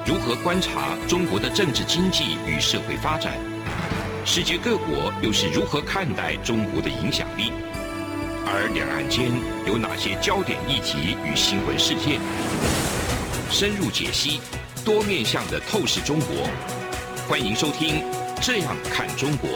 如何观察中国的政治经济与社会发展？世界各国又是如何看待中国的影响力？而两岸间有哪些焦点议题与新闻事件？深入解析，多面向的透视中国。欢迎收听《这样看中国》。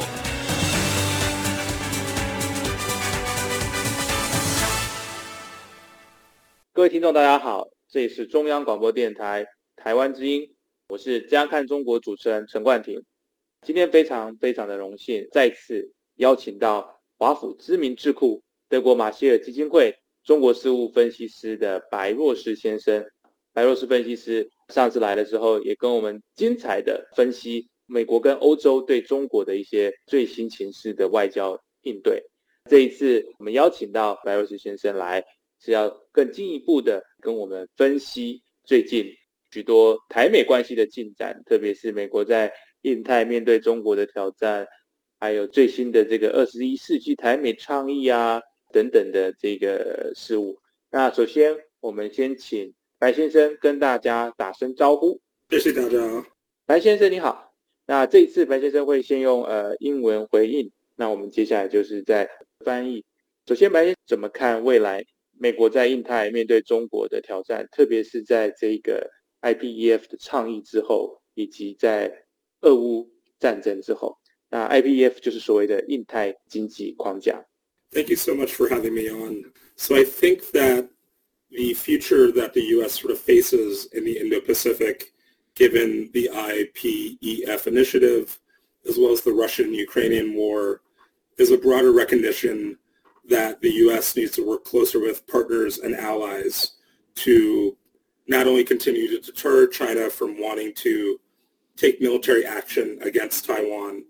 各位听众大家好，这里是中央广播电台台湾之音，我是这样看中国主持人陈冠廷。今天非常的荣幸再次邀请到华府知名智库德国马歇尔基金会中国事务分析师的白若石先生。白若石分析师上次来的时候也跟我们精彩的分析美国跟欧洲对中国的一些最新情势的外交应对。这一次我们邀请到白若石先生来，是要更进一步的跟我们分析最近许多台美关系的进展，特别是美国在印太面对中国的挑战，还有最新的这个21世纪台美倡议啊等等的这个事务。那首先我们先请白先生跟大家打声招呼。 谢谢大家。 白先生你好。那这一次白先生会先用英文回应，那我们接下来就是在翻译。首先白先生怎么看未来美国在印太面对中国的挑战，特别是在这个 IPEF 的倡议之后，以及在俄乌战争之后。那 IPEF 就是所谓的印太经济框架。 Thank you so much for having me on. So I think that the future that the U.S. sort of faces in the Indo-Pacific, given the IPEF initiative, as well as the Russian-Ukrainian war, is a broader recognition that the U.S. needs to work closer with partners and allies to not only continue to deter China from wanting to take military action against Taiwan,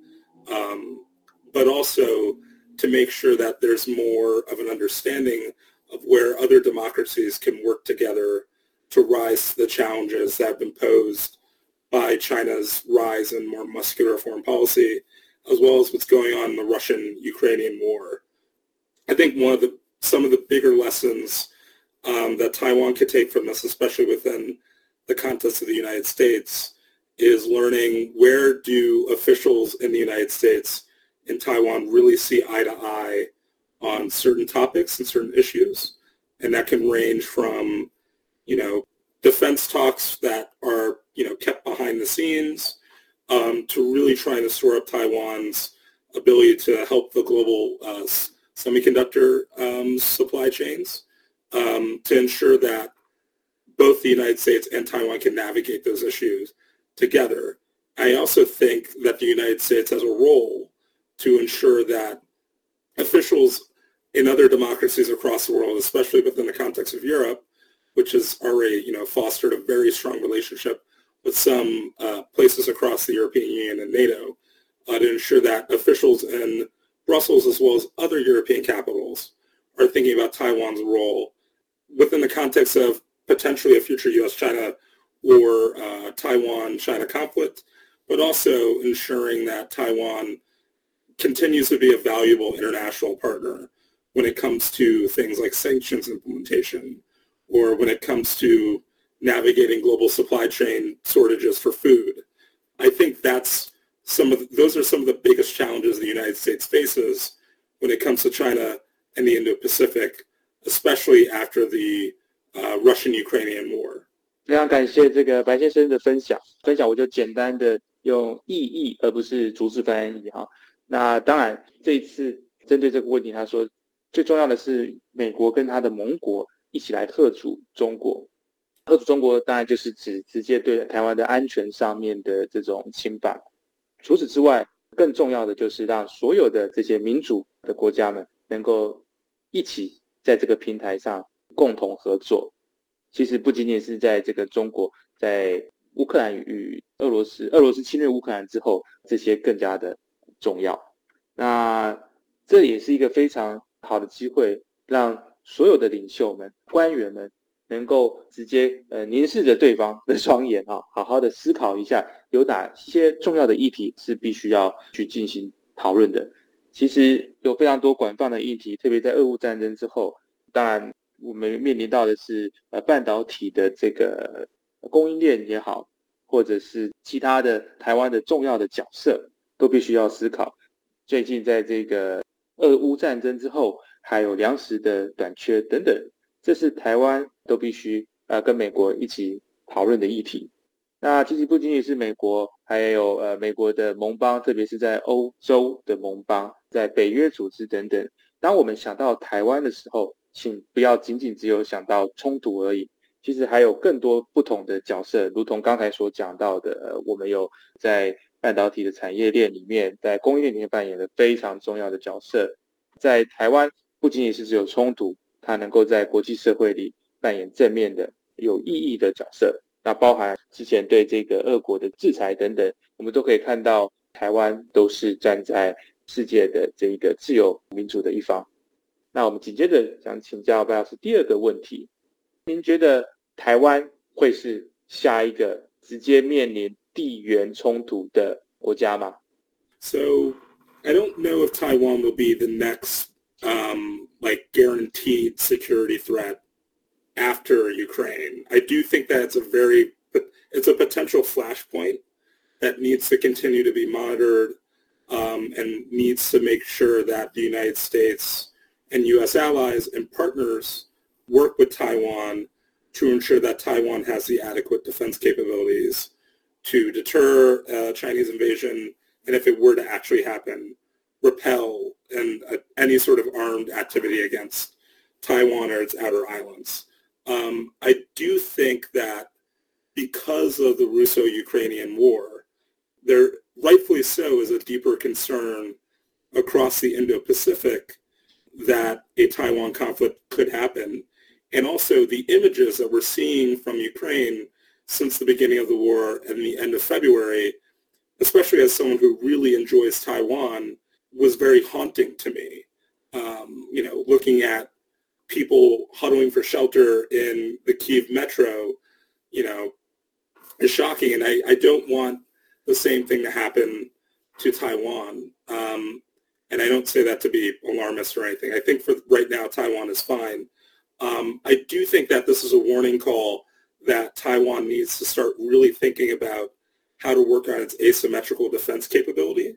but also to make sure that there's more of an understanding of where other democracies can work together to rise to the challenges that have been posed by China's rise in more muscular foreign policy, as well as what's going on in the Russian-Ukrainian war. I think some of the bigger lessons that Taiwan could take from this, especially within the context of the United States, is learning where do officials in the United States and Taiwan really see eye to eye on certain topics and certain issues. And that can range from, defense talks that are, kept behind the scenes, to really trying to shore up Taiwan's ability to help the global semiconductor supply chains, to ensure that both the United States and Taiwan can navigate those issues together. I also think that the United States has a role to ensure that officials in other democracies across the world, especially within the context of Europe, which has already, fostered a very strong relationship with some places across the European Union and NATO, to ensure that officials in Brussels as well as other European capitals are thinking about Taiwan's role within the context of potentially a future U.S.-China or Taiwan-China conflict, but also ensuring that Taiwan continues to be a valuable international partner when it comes to things like sanctions implementation, or when it comes to navigating global supply chain shortages for food. I think those are some of the biggest challenges the United States faces when it comes to China and the Indo-Pacific, especially after the Russian-Ukrainian war. 非常感谢这个白先生的分享，我就简单的用意译而不是逐字翻译哈。那当然这一次针对这个问题，他说最重要的是美国跟他的盟国一起来嚇阻中国。嚇阻中国当然就是指直接对台湾的安全上面的这种侵犯。除此之外，更重要的就是让所有的这些民主的国家们能够一起在这个平台上共同合作。其实不仅仅是在这个中国，在乌克兰与俄罗斯侵略乌克兰之后，这些更加的重要。那这也是一个非常好的机会，让所有的领袖们、官员们能够直接凝视着对方的双眼啊，好好的思考一下，有哪些重要的议题是必须要去进行讨论的。其实有非常多广泛的议题，特别在俄乌战争之后，当然我们面临到的是半导体的这个供应链也好， 或者是其他的台湾的重要的角色，都必须要思考。最近在这个俄乌战争之后，还有粮食的短缺等等，这是台湾都必须跟美国一起讨论的议题。那其实不仅仅是美国，还有美国的盟邦，特别是在欧洲的盟邦，在北约组织等等。当我们想到台湾的时候，请不要仅仅只有想到冲突而已，其实还有更多不同的角色，如同刚才所讲到的，我们有在半导体的产业链里面，在供应链里面扮演了非常重要的角色。在台湾，不仅仅是只有冲突，它能够在国际社会里扮演正面的、有意义的角色。那包含之前对这个俄国的制裁等等，我们都可以看到台湾都是站在世界的这一个自由民主的一方。那我们紧接着想请教白老师第二个问题，您觉得台湾会是下一个直接面临地缘冲突的国家吗？ So I don't know if Taiwan will be the next like guaranteed security threat after Ukraine. I do think that it's a potential flashpoint that needs to continue to be monitored and needs to make sure that the United States and U.S. allies and partners work with Taiwan to ensure that Taiwan has the adequate defense capabilities to deter Chinese invasion, and if it were to actually happen, repel any sort of armed activity against Taiwan or its outer islands. I do think that because of the Russo-Ukrainian war, there rightfully so is a deeper concern across the Indo-Pacific that a Taiwan conflict could happen. And also the images that we're seeing from Ukraine since the beginning of the war and the end of February, especially as someone who really enjoys Taiwan, was very haunting to me. Looking at people huddling for shelter in the Kyiv metro, is shocking. And I don't want the same thing to happen to Taiwan. And I don't say that to be alarmist or anything. I think for right now, Taiwan is fine. I do think that this is a warning call that Taiwan needs to start really thinking about how to work on its asymmetrical defense capability,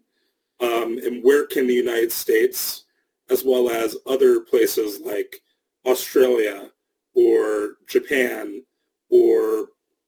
and where can the United States, as well as other places like Australia or Japan or,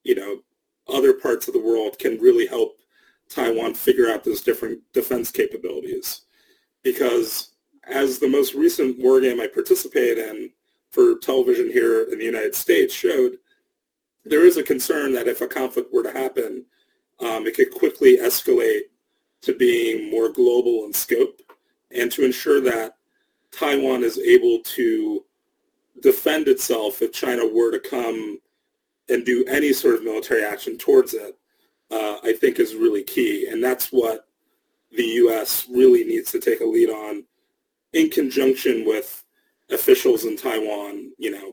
other parts of the world can really help Taiwan figure out those different defense capabilities. Because as the most recent war game I participated in for television here in the United States showed, there is a concern that if a conflict were to happen, it could quickly escalate to being more global in scope, and to ensure that Taiwan is able to defend itself if China were to come and do any sort of military action towards it, I think is really key. And that's what the U.S. really needs to take a lead on in conjunction with officials in Taiwan,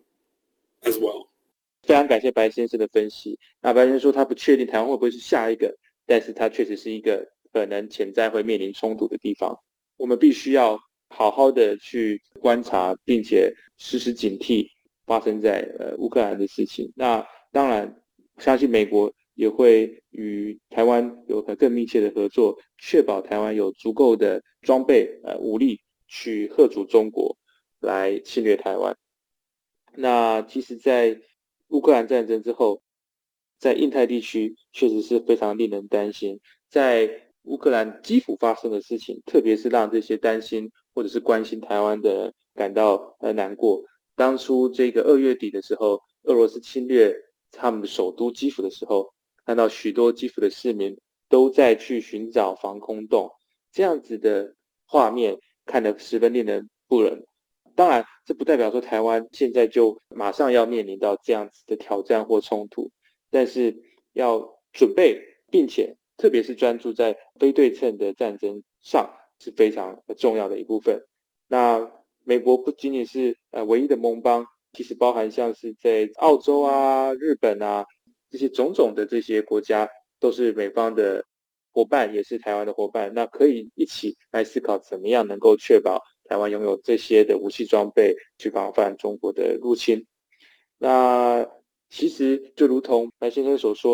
as well. 非常感谢白先生的分析。那白先生说他不确定台湾会不会是下一个，但是他确实是一个可能潜在会面临冲突的地方。我们必须要好好的去观察，并且时时警惕发生在乌克兰的事情。那当然，相信美国也会与台湾有更密切的合作，确保台湾有足够的装备武力去嚇阻中国来侵略台湾。那其实在乌克兰战争之后，在印太地区确实是非常令人担心。在乌克兰基辅发生的事情，特别是让这些担心或者是关心台湾的人感到难过。当初这个2月底的时候，俄罗斯侵略他们的首都基辅的时候，看到许多基辅的市民都在去寻找防空洞，这样子的画面看得十分令人不忍。当然，这不代表说台湾现在就马上要面临到这样子的挑战或冲突，但是要准备，并且特别是专注在非对称的战争上是非常重要的一部分。那美国不仅仅是唯一的盟邦，其实包含像是在澳洲啊、日本啊这些种种的这些国家，都是美方的伙伴，也是台湾的伙伴。那可以一起来思考怎么样能够确保台湾拥有这些的武器装备去防范中国的入侵。那其实就如同白先生所说的，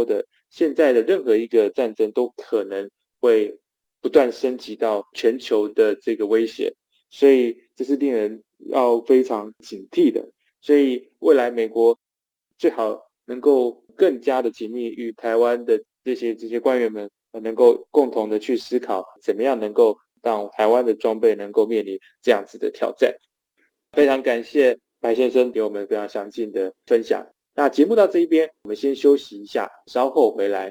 现在的任何一个战争都可能会不断升级到全球的这个威胁，所以这是令人要非常警惕的。所以未来美国最好能够更加的紧密与台湾的这些官员们能够共同的去思考，怎么样能够让台湾的装备能够面临这样子的挑战。非常感谢白先生给我们非常详尽的分享。那节目到这一边，我们先休息一下，稍后回来。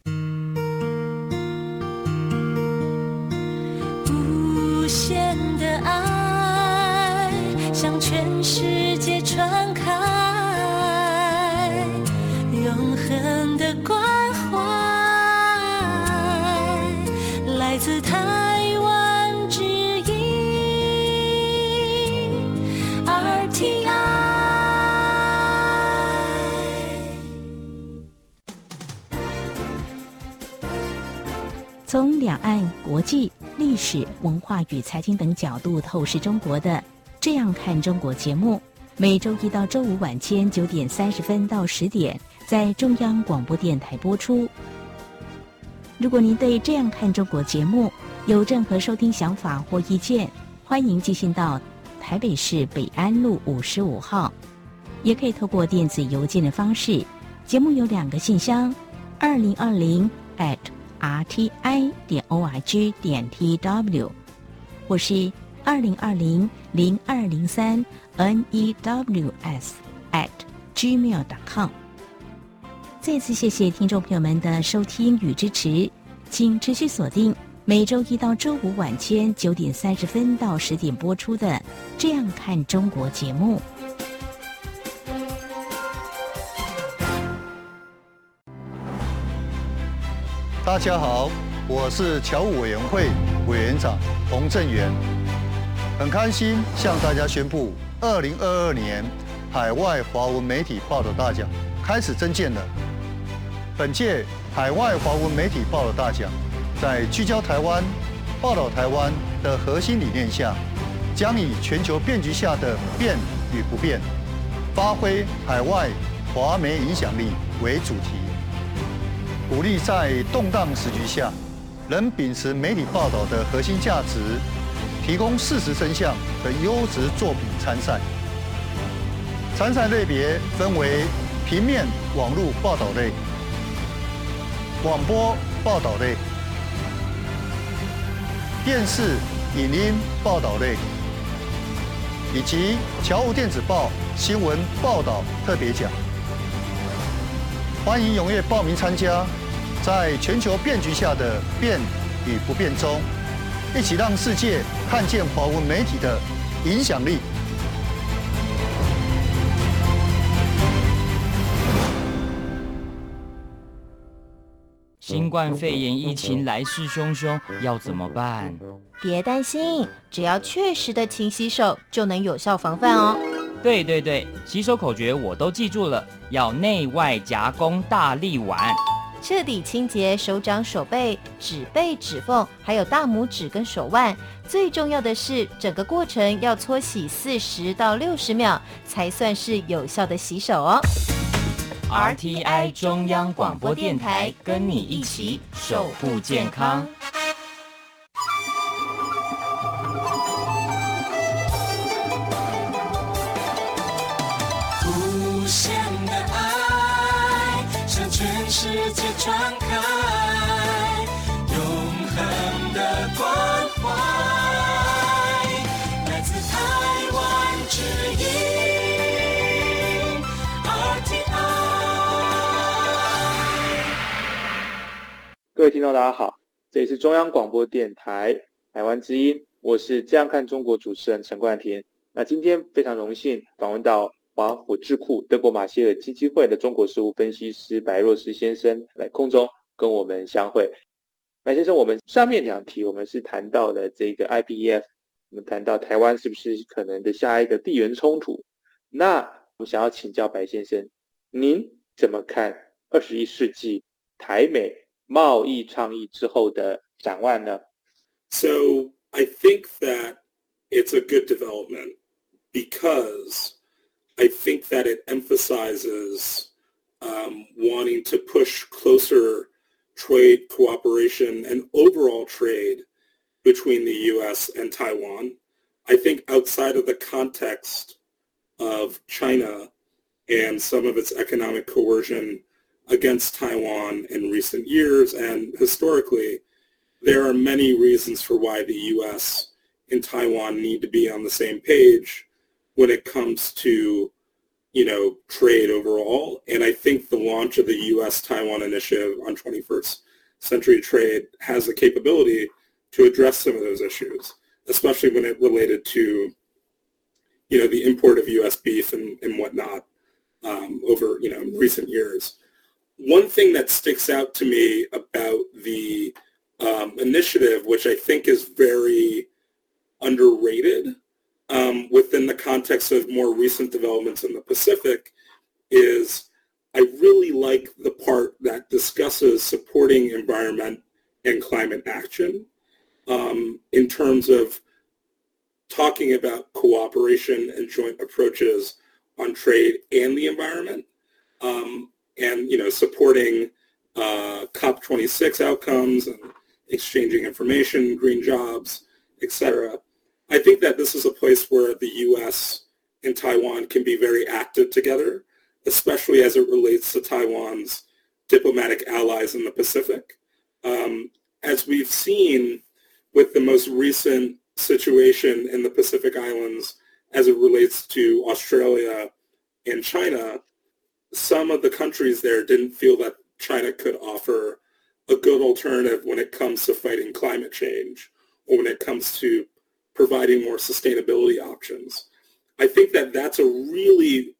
无限的爱向全世界传开，永恒的关怀来自台湾之音 RTI。 从两岸、国际、历史、文化与财经等角度透视中国的《这样看中国》节目，每周一到周五晚间9点30分到10点在中央广播电台播出。如果您对《这样看中国》节目有任何收听想法或意见，欢迎寄信到台北市北安路55号，也可以透过电子邮件的方式。节目有2个信箱2020@rti.org.tw 或是2020-0203-news@gmail.com。 再次谢谢听众朋友们的收听与支持，请持续锁定每周一到周五晚间9点30分到10点播出的《这样看中国》节目。 大家好，我是侨务委员会委员长洪正元，很开心向大家宣布，2022年海外华文媒体报道大奖开始征件了。本届海外华文媒体报道大奖，在聚焦台湾、报道台湾的核心理念下，将以全球变局下的变与不变，发挥海外华媒影响力为主题。鼓励在动荡时局下，仍秉持媒体报道的核心价值，提供事实真相的优质作品参赛。参赛类别分为平面网络报道类、广播报道类、电视影音报道类，以及侨务电子报新闻报道特别奖。欢迎踊跃报名参加，在全球变局下的变与不变中，一起让世界看见华文媒体的影响力。 新冠肺炎疫情来势汹汹，要怎么办？ 别担心，只要确实的勤洗手，就能有效防范哦。 对，洗手口诀我都记住了，要内外夹攻大力丸， 彻底清洁手掌、手背、指背、指缝，还有大拇指跟手腕。最重要的是，整个过程要搓洗40到60秒，才算是有效的洗手哦。 RTI 中央广播电台，跟你一起守护健康。 无限的爱向全世界传开，永恒的关怀来自台湾之音 RTI。 各位听众大家好，这里是中央广播电台台湾之音，我是这样看中国主持人陈冠廷。那今天非常荣幸访问到华府智库德国马歇尔基金会的中国事务分析师白若诗先生来空中跟我们相会。白先生，我们上面2题我们是谈到了这个 IPEF， 我们谈到台湾是不是可能的下一个地缘冲突。那我想要请教白先生，您怎么看21世纪台美贸易倡议之后的展望呢？ So I think that it's a good development because I think that it emphasizes wanting to push closer trade cooperation and overall trade between the U.S. and Taiwan. I think outside of the context of China and some of its economic coercion against Taiwan in recent years and historically, there are many reasons for why the U.S. and Taiwan need to be on the same page when it comes to, trade overall. And I think the launch of the U.S.-Taiwan Initiative on 21st Century Trade has the capability to address some of those issues, especially when it related to, the import of U.S. beef and whatnot over, recent years. One thing that sticks out to me about the initiative, which I think is very underrated within the context of more recent developments in the Pacific, is I really like the part that discusses supporting environment and climate action in terms of talking about cooperation and joint approaches on trade and the environment, and supporting COP26 outcomes and exchanging information, green jobs, etc. I think that this is a place where the U.S. and Taiwan can be very active together, especially as it relates to Taiwan's diplomatic allies in the Pacific. As we've seen with the most recent situation in the Pacific Islands as it relates to Australia and China, some of the countries there didn't feel that China could offer a good alternative when it comes to fighting climate change or when it comes to providing more sustainability options. I think that that's a really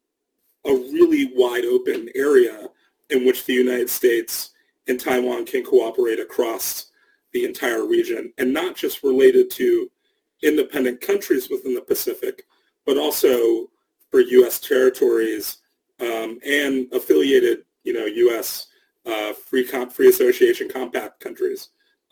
wide open area in which the United States and Taiwan can cooperate across the entire region, and not just related to independent countries within the Pacific, but also for U.S. territories and affiliated, U.S. Free Association Compact countries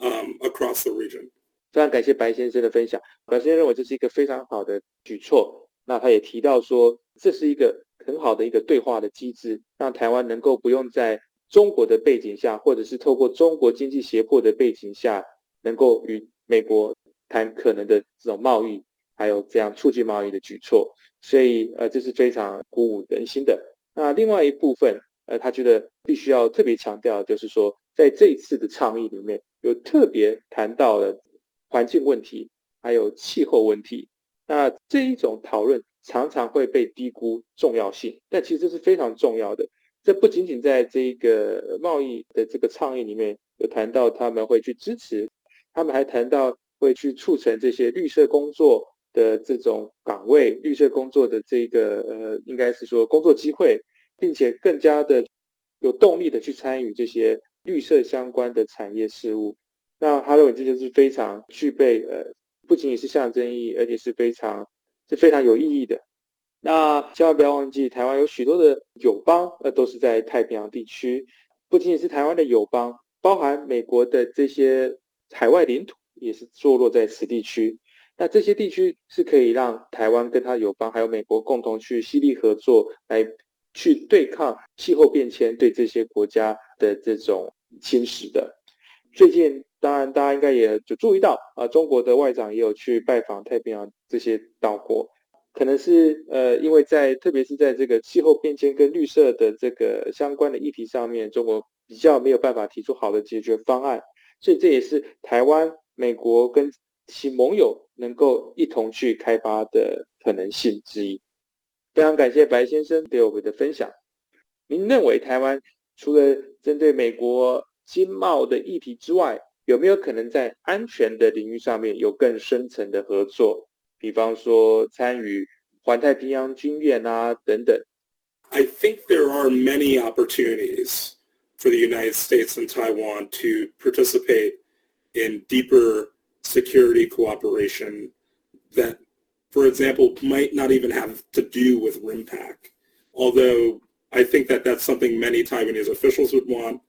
across the region. 非常感谢白先生的分享。白先生认为这是一个非常好的举措。那他也提到说，这是一个很好的一个对话的机制，让台湾能够不用在中国的背景下，或者是透过中国经济胁迫的背景下，能够与美国谈可能的这种贸易，还有这样促进贸易的举措。所以这是非常鼓舞人心的。那另外一部分，他觉得必须要特别强调，就是说在这一次的倡议里面，有特别谈到了环境问题，还有气候问题。那这一种讨论常常会被低估重要性，但其实这是非常重要的。这不仅仅在这个贸易的这个倡议里面有谈到他们会去支持，他们还谈到会去促成这些绿色工作的这种岗位，绿色工作的这个应该是说工作机会，并且更加的有动力的去参与这些绿色相关的产业事务。那他认为这就是非常具备不仅仅是象征意义，而且是非常有意义的。那千万不要忘记，台湾有许多的友邦都是在太平洋地区，不仅仅是台湾的友邦，包含美国的这些海外领土也是坐落在此地区。那这些地区是可以让台湾跟他友邦还有美国共同去犀利合作，来去对抗气候变迁对这些国家的这种侵蚀的。最近当然大家应该也就注意到中国的外长也有去拜访太平洋这些岛国，可能是因为特别是在这个气候变迁跟绿色的这个相关的议题上面，中国比较没有办法提出好的解决方案，所以这也是台湾、美国跟其盟友能够一同去开发的可能性之一。非常感谢白先生对我们的分享。您认为台湾除了针对美国经贸的议题之外，有没有可能在安全的领域上面有更深层的合作？比方说参与环太平洋军演等等。 I think there are many opportunities for the United States and Taiwan to participate in deeper security cooperation that, for example, might not even have to do with RIMPAC, although I think that that's something many Taiwanese officials would want.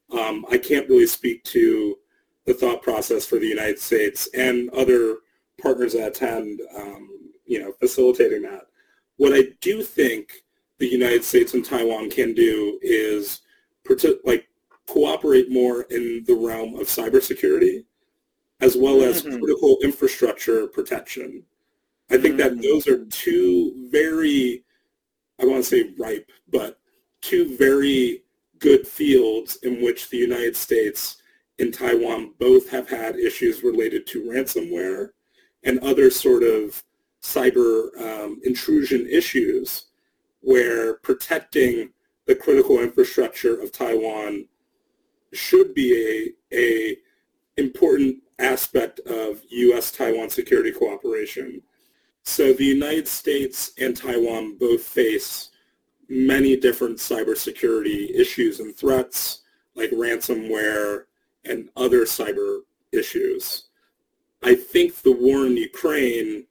I can't really speak to the thought process for the United States and other partners that attend, facilitating that. What I do think the United States and Taiwan can do is cooperate more in the realm of cybersecurity, as well as critical infrastructure protection. I think that those are two very, I want to say ripe, but two very good fields in which the United States and Taiwan both have had issues related to ransomware and other sort of cyber intrusion issues, where protecting the critical infrastructure of Taiwan should be a important aspect of U.S.-Taiwan security cooperation. So the United States and Taiwan both face many different cybersecurity issues and threats, like ransomware and other cyber issues. I think the war in Ukraine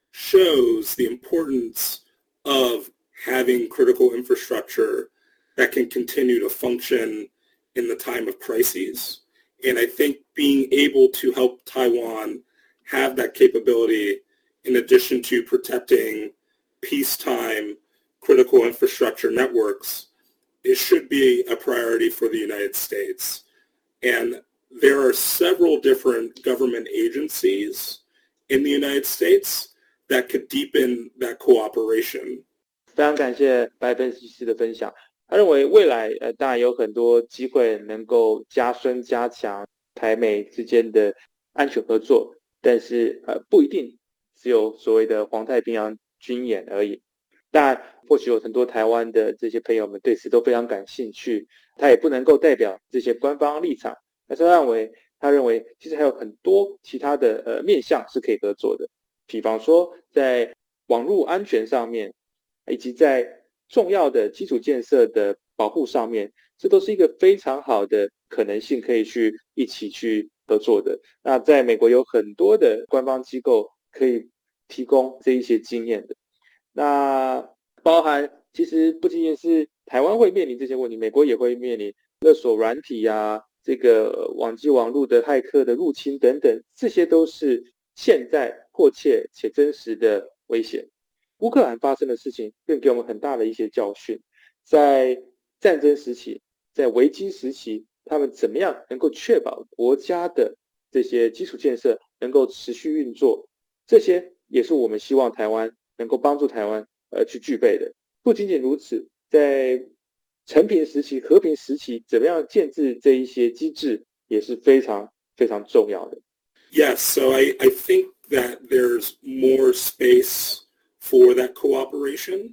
shows the importance of having critical infrastructure that can continue to function in the time of crises. And I think being able to help Taiwan have that capability, in addition to protecting peacetime critical infrastructure networks, it should be a priority for the United States. And there are several different government agencies in the United States that could deepen that cooperation. 非常感谢白分析师的分享。他认为未来当然有很多机会能够加强台美之间的安全合作，但是不一定只有所谓的环太平洋军演而已。当然，或许有很多台湾的这些朋友们对此都非常感兴趣，他也不能够代表这些官方立场，但是他认为其实还有很多其他的面向是可以合作的，比方说在网络安全上面，以及在重要的基础建设的保护上面，这都是一个非常好的可能性，可以一起去合作的。那在美国有很多的官方机构可以提供这一些经验的。那包含其实不仅仅是台湾会面临这些问题，美国也会面临勒索软体啊，这个网际网络的骇客的入侵等等，这些都是现在迫切且真实的威胁。乌克兰发生的事情更给我们很大的一些教训，在战争时期，在危机时期，他们怎么样能够确保国家的这些基础建设能够持续运作，这些也是我们希望台湾能够帮助台湾去具备的。不仅仅如此，在和平时期怎么样建制这一些机制也是非常非常重要的。 Yes, so I think that there's more space for that cooperation.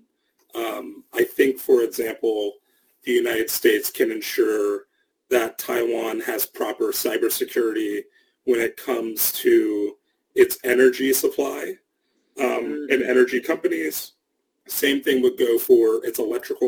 I think, for example, the United States can ensure that Taiwan has proper cybersecurity when it comes to its energy supply and energy companies. Same thing would go for its electrical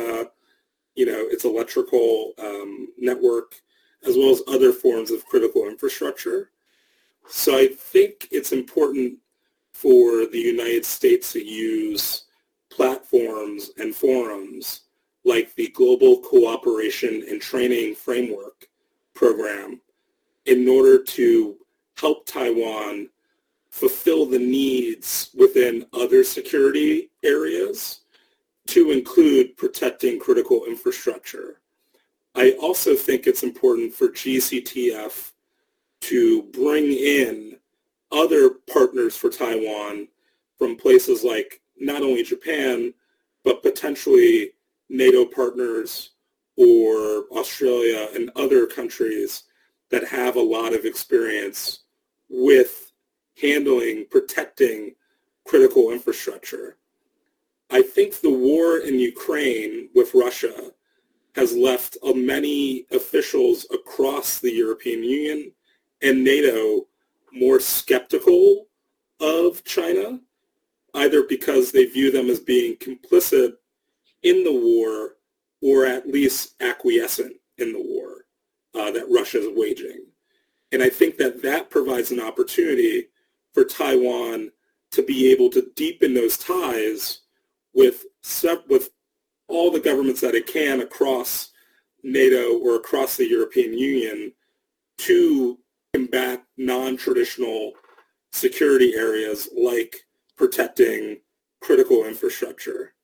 network, as well as other forms of critical infrastructure. So I think it's important for the United States to use platforms and forums like the Global Cooperation and Training Framework program in order to help Taiwan fulfill the needs within other security areas, to include protecting critical infrastructure. I also think it's important for GCTF to bring in other partners for Taiwan from places like not only Japan, but potentially NATO partners or Australia and other countries that have a lot of experience with protecting critical infrastructure. I think the war in Ukraine with Russia has left many officials across the European Union and NATO more skeptical of China, either because they view them as being complicit in the war or at least acquiescent in the war that Russia is waging. And I think that provides an opportunity for Taiwan to be able to deepen those ties with all the governments that it can across NATO or across the European Union to combat non-traditional security areas like protecting critical infrastructure.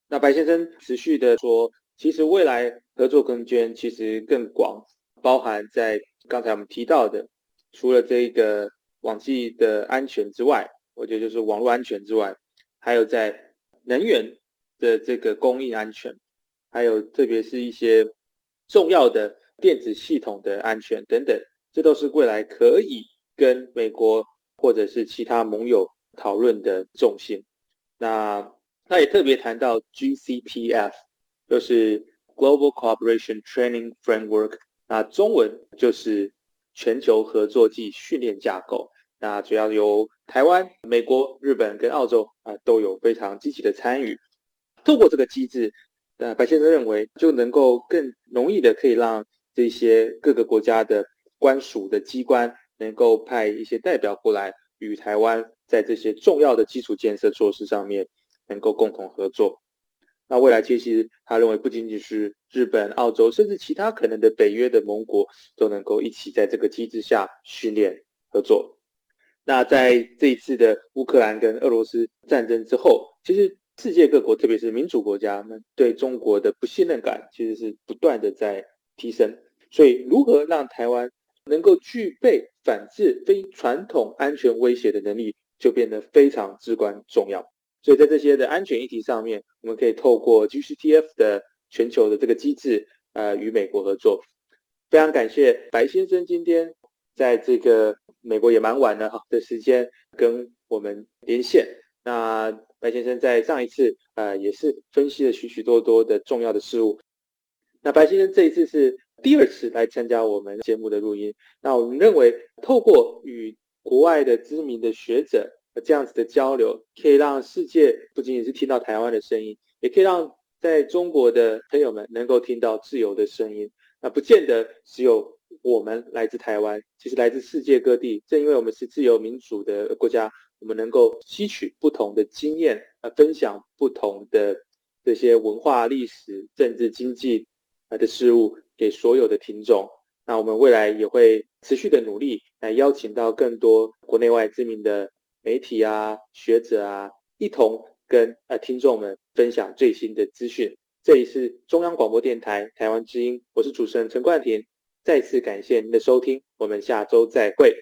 那白先生持续的说，其实未来合作空间其实更广，包含在刚才我们提到的，除了这个网际的安全之外，我觉得就是网络安全之外，还有在能源的这个供应安全，还有特别是一些重要的电子系统的安全等等，这都是未来可以跟美国或者是其他盟友讨论的重心。那他也特别谈到 GCPF， 就是 Global Cooperation Training Framework， 那中文就是全球合作暨训练架构。那主要由台湾、美国、日本跟澳洲都有非常积极的参与。透过这个机制，白先生认为就能够更容易的可以让这些各个国家的官署的机关能够派一些代表过来，与台湾在这些重要的基础建设措施上面能够共同合作。那未来其实他认为不仅仅是日本、澳洲，甚至其他可能的北约的盟国都能够一起在这个机制下训练合作。那在这一次的乌克兰跟俄罗斯战争之后，其实世界各国特别是民主国家们对中国的不信任感其实是不断的在提升，所以如何让台湾能够具备反制非传统安全威胁的能力就变得非常至关重要。所以在这些的安全议题上面，我们可以透过 GCTF 的全球的这个机制与美国合作。非常感谢白先生今天在这个美国也蛮晚了的时间跟我们连线。那白先生在上一次也是分析了许许多多的重要的事物。那白先生这一次是第二次来参加我们节目的录音。那我们认为透过与国外的知名的学者这样子的交流，可以让世界不仅仅是听到台湾的声音，也可以让在中国的朋友们能够听到自由的声音。那不见得只有我们来自台湾，其实来自世界各地，正因为我们是自由民主的国家，我们能够吸取不同的经验，分享不同的这些文化、历史、政治、经济的事物给所有的听众。那我们未来也会持续的努力来邀请到更多国内外知名的媒体啊、学者啊，一同跟听众们分享最新的资讯。这里是中央广播电台台湾之音，我是主持人陈冠廷，再次感谢您的收听，我们下周再会。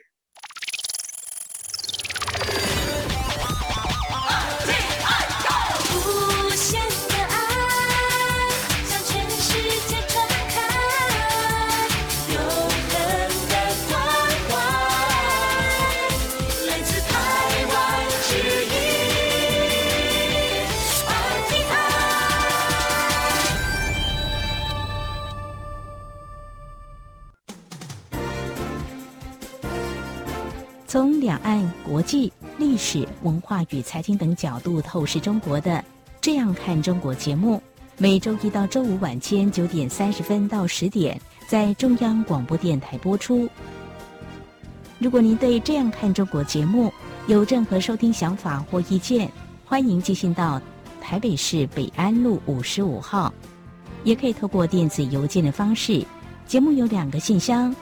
从两岸、国际、历史、文化与财经等角度透视中国的《这样看中国》节目，每周一到周五晚间9点30分到10点在中央广播电台播出。如果您对《这样看中国》节目有任何收听想法或意见，欢迎寄信到台北市北安路55号，也可以透过电子邮件的方式。节目有2个信箱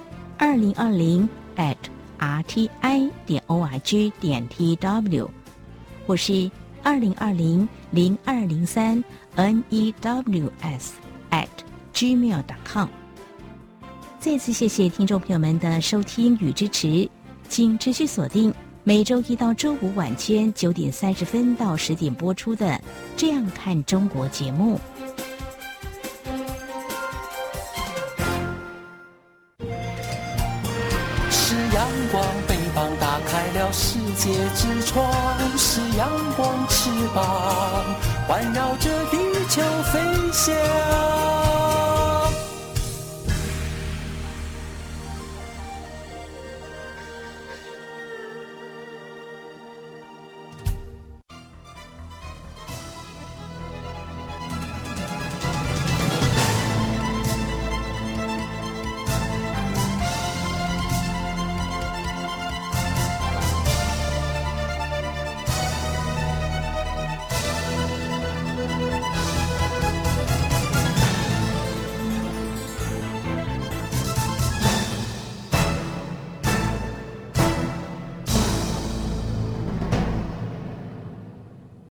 2020@rti.org.tw 或是2020-0203-news@gmail.com。 再次谢谢听众朋友们的收听与支持，请持续锁定每周一到周五晚间9点30分到10点播出的《这样看中国》节目。 是阳光，北方打开了世界之窗，是阳光翅膀环绕着地球飞翔。